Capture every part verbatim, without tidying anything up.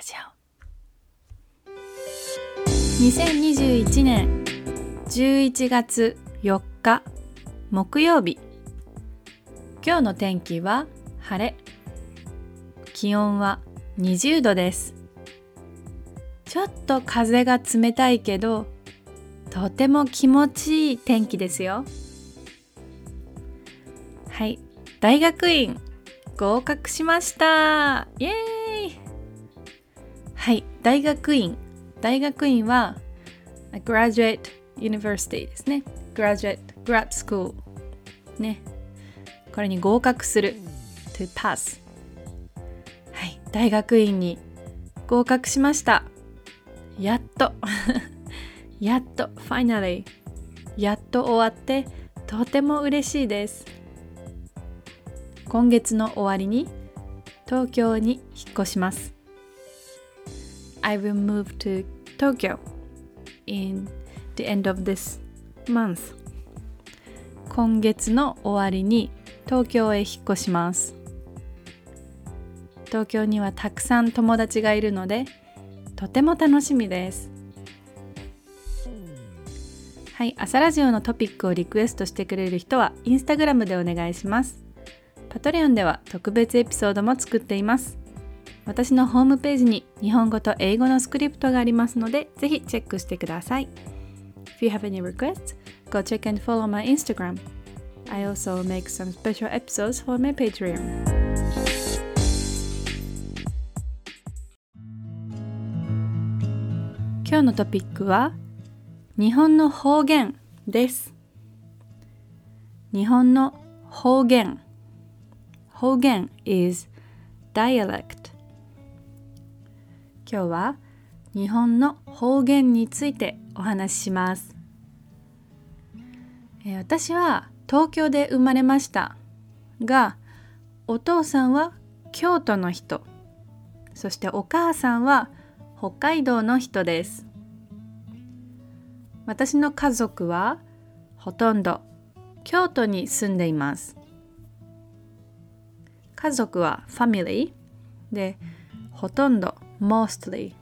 ジオにせんにじゅういちねんじゅういちがつよっか木曜日。今日の天気は晴れ。気温はにじゅうどです。ちょっと風が冷たいけどとても気持ちいい天気ですよ。はい、大学院合格しました。イエーイ。はい、大学院大学院は Graduate University ですね。 Graduate Grad School ね。これに合格する To pass。 はい、大学院に合格しました。やっとやっと Finally やっと終わってとても嬉しいです。今月の終わりに東京に引っ越します。 I will move to Tokyo in the end of this month。 今月の終わりに東京へ引っ越します。東京にはたくさん友達がいるのでとても楽しみです。はい、朝ラジオのトピックをリクエストしてくれる人はインスタグラムでお願いします。パトレオンでは特別エピソードも作っています。私のホームページに日本語と英語のスクリプトがありますのでぜひチェックしてください。If you have any requests, go check and follow my Instagram. I also make some special episodes for my Patreon. 今日のトピックは日本の方言です。日本の方言。方言 is dialect。 今日は日本の方言についてお話しします。えー、私は東京で生まれましたが、お父さんは京都の人、そしてお母さんは北海道の人です。私の家族はほとんど京都に住んでいます。家族は family で、ほとんど mostly。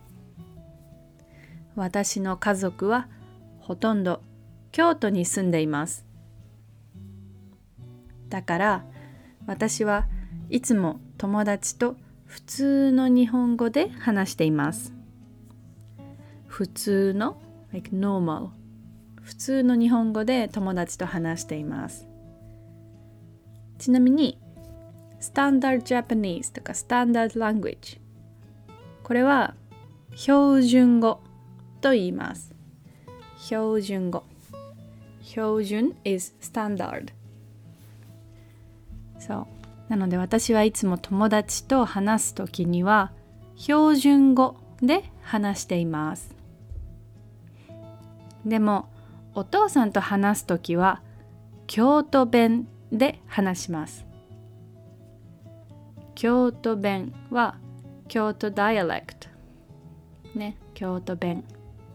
私の家族はほとんど京都に住んでいます。だから私はいつも友達と普通の日本語で話しています。普通の like normal、 普通の日本語で友達と話しています。ちなみにスタンダードジャパニーズとかスタンダードラングエッジ、これは標準語と言います。標準語。標準 is standard。 そうなので私はいつも友達と話すときには標準語で話しています。でもお父さんと話すときは京都弁で話します。京都弁は京都ダイアレクトね、京都弁、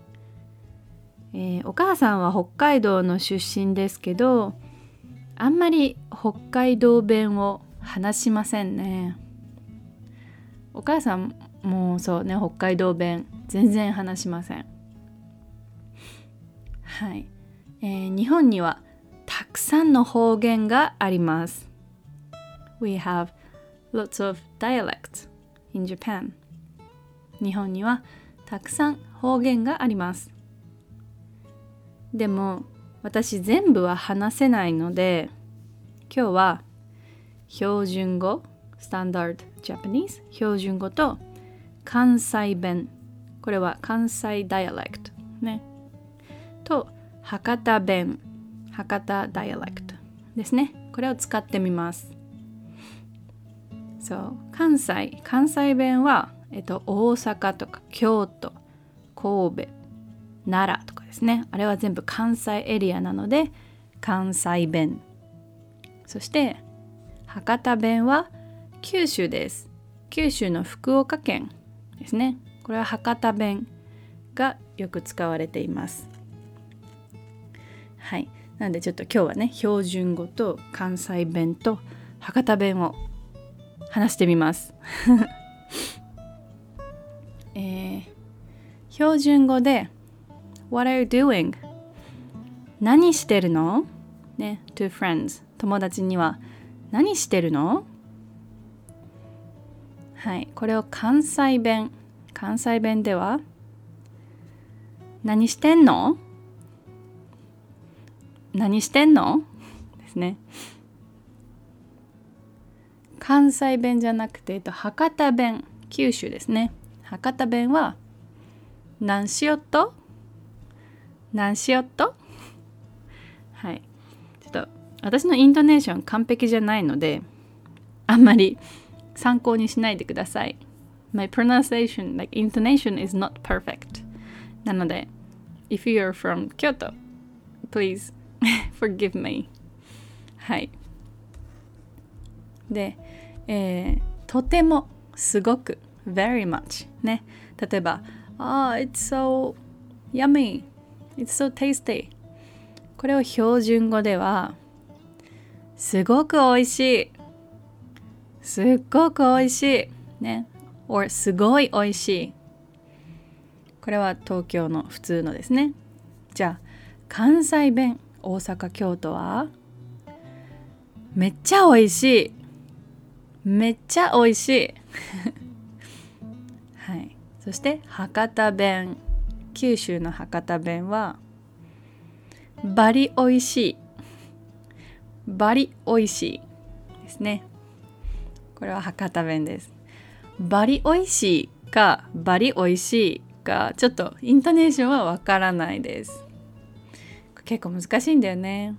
えー、お母さんは北海道の出身ですけど、あんまり北海道弁を話しませんね。お母さんもそうね、北海道弁全然話しません。はい、えー、日本にはたくさんの方言があります。 We have lots of dialects in Japan。 日本にはたくさん方言があります。でも私全部は話せないので、今日は標準語 Standard Japanese 標準語と関西弁、これは関西ダイアレクトね、と博多弁、博多ダイアレクトですね、これを使ってみます。そう、関西関西弁は、えっと、大阪とか京都、神戸、奈良とかですね、あれは全部関西エリアなので関西弁。そして博多弁は九州です。九州の福岡県ですね、これは博多弁がよく使われています。はい、なのでちょっと今日はね、標準語と関西弁と博多弁を話してみますえー、標準語で What are you doing? 何してるのね、to friends 友達には何してるの？はい、これを関西弁関西弁では何してんの？何してんの？ですね。関西弁じゃなくて、えっと、博多弁、九州ですね。博多弁は何しよっと？何しよっと？はい。ちょっと私のイントネーション完璧じゃないので、あんまり参考にしないでください。My pronunciation, like intonation is not perfect. なので、if you're from Kyoto, please forgive me. はい。で、えー、とても、すごく、very much ね。例えば、ああ、it's so yummy, it's so tasty. これを標準語では、すごくおいしい、すっごくおいしい、ね。or すごいおいしい。これは東京の普通のですね。じゃあ、関西弁、大阪、京都は、めっちゃおいしい。めっちゃおいしい。はい。そして博多弁、九州の博多弁はバリおいしい。バリおいしいですね。これは博多弁です。バリおいしいかバリおいしいかちょっとイントネーションはわからないです。結構難しいんだよね。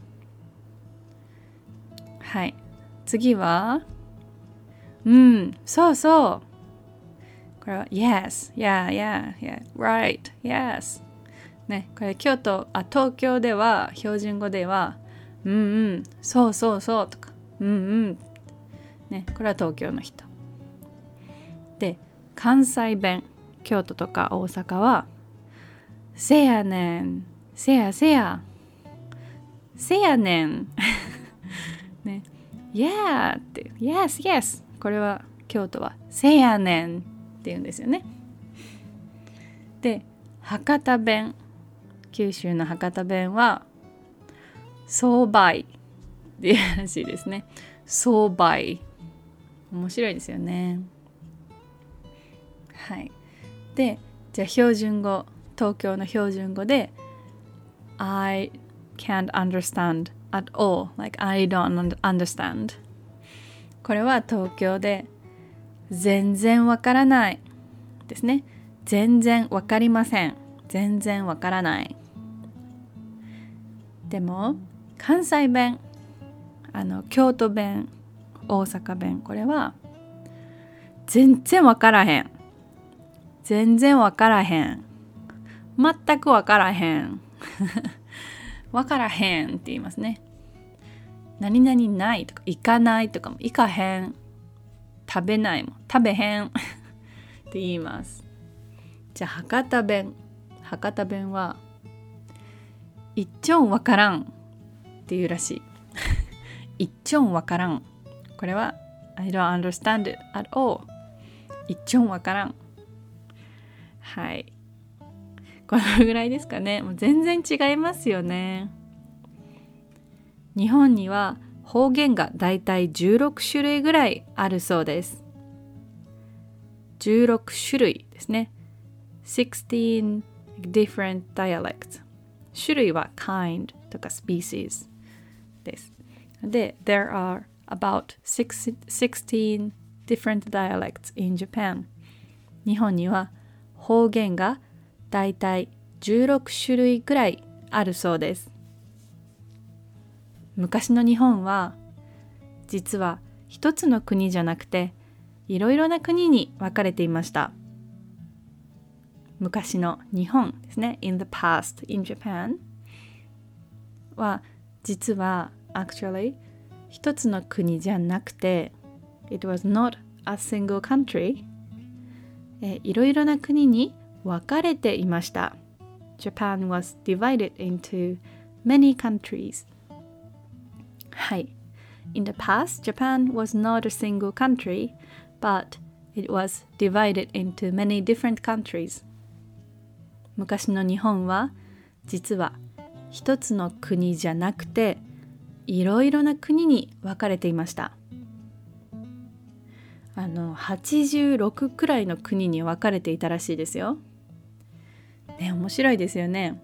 はい。次はうん、そうそう。これは Yes, yeah, yeah, yeah, right, yes ね、これ京都、あ、東京では標準語ではうんうん、そうそうそうとかうんうんね、これは東京の人で、関西弁、京都とか大阪はせやねん、せやせやせやねんね、Yeah って Yes, yes これは京都はせやねんって言うんですよね。で、博多弁、九州の博多弁はそうばいっていうらしいですね。そうばい。面白いですよね。はい。で、じゃあ標準語、東京の標準語で I can't understand at all. Like I don't understand. これは東京で全然わからないですね。全然わかりません。全然わからない。でも関西弁、あの京都弁、大阪弁、これは全然わからへん。全然わからへん。全くわからへん。わからへんって言いますね。何々ないとか行かないとかも行かへん。食べないも食べへんって言います。じゃあ博多弁、博多弁は一ちょんわからんっていうらしい。一ちょんわからん。これは I don't understand it at all。一ちょんわからん。はい。このぐらいですかね。もう全然違いますよね。日本には方言がだいたいじゅうろくしゅるいぐらいあるそうです。じゅうろくしゅるいですね。sixteen different dialects。種類は kind とか species です。で、there are about sixteen different dialects in Japan。日本には方言がだいたいじゅうろくしゅるいくらいあるそうです。昔の日本は実は一つの国じゃなくていろいろな国に分かれていました。昔の日本ですね。In the past in Japan は実は actually 一つの国じゃなくて It was not a single country。えいろいろな国に分かれていました。Japan was divided into many countries。はい。In the past, Japan was not a single country, but It was divided into many different countries. 昔の日本は実は一つの国じゃなくていろいろな国に分かれていました。あのはちじゅうろくくらいの国に分かれていたらしいですよ。ね、面白いですよね。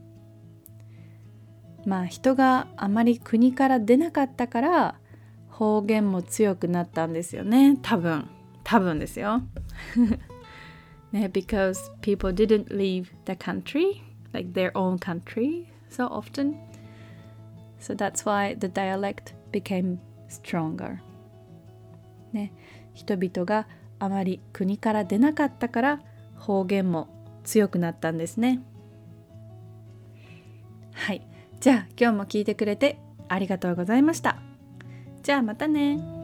まあ人があまり国から出なかったから方言も強くなったんですよね。多分多分ですよ。ね、because people didn't leave the country, like their own country, so often. So that's why the dialect became stronger. ね、人々があまり国から出なかったから方言も強くなったんですね。はい、じゃあ今日も聞いてくれてありがとうございました。じゃあまたね。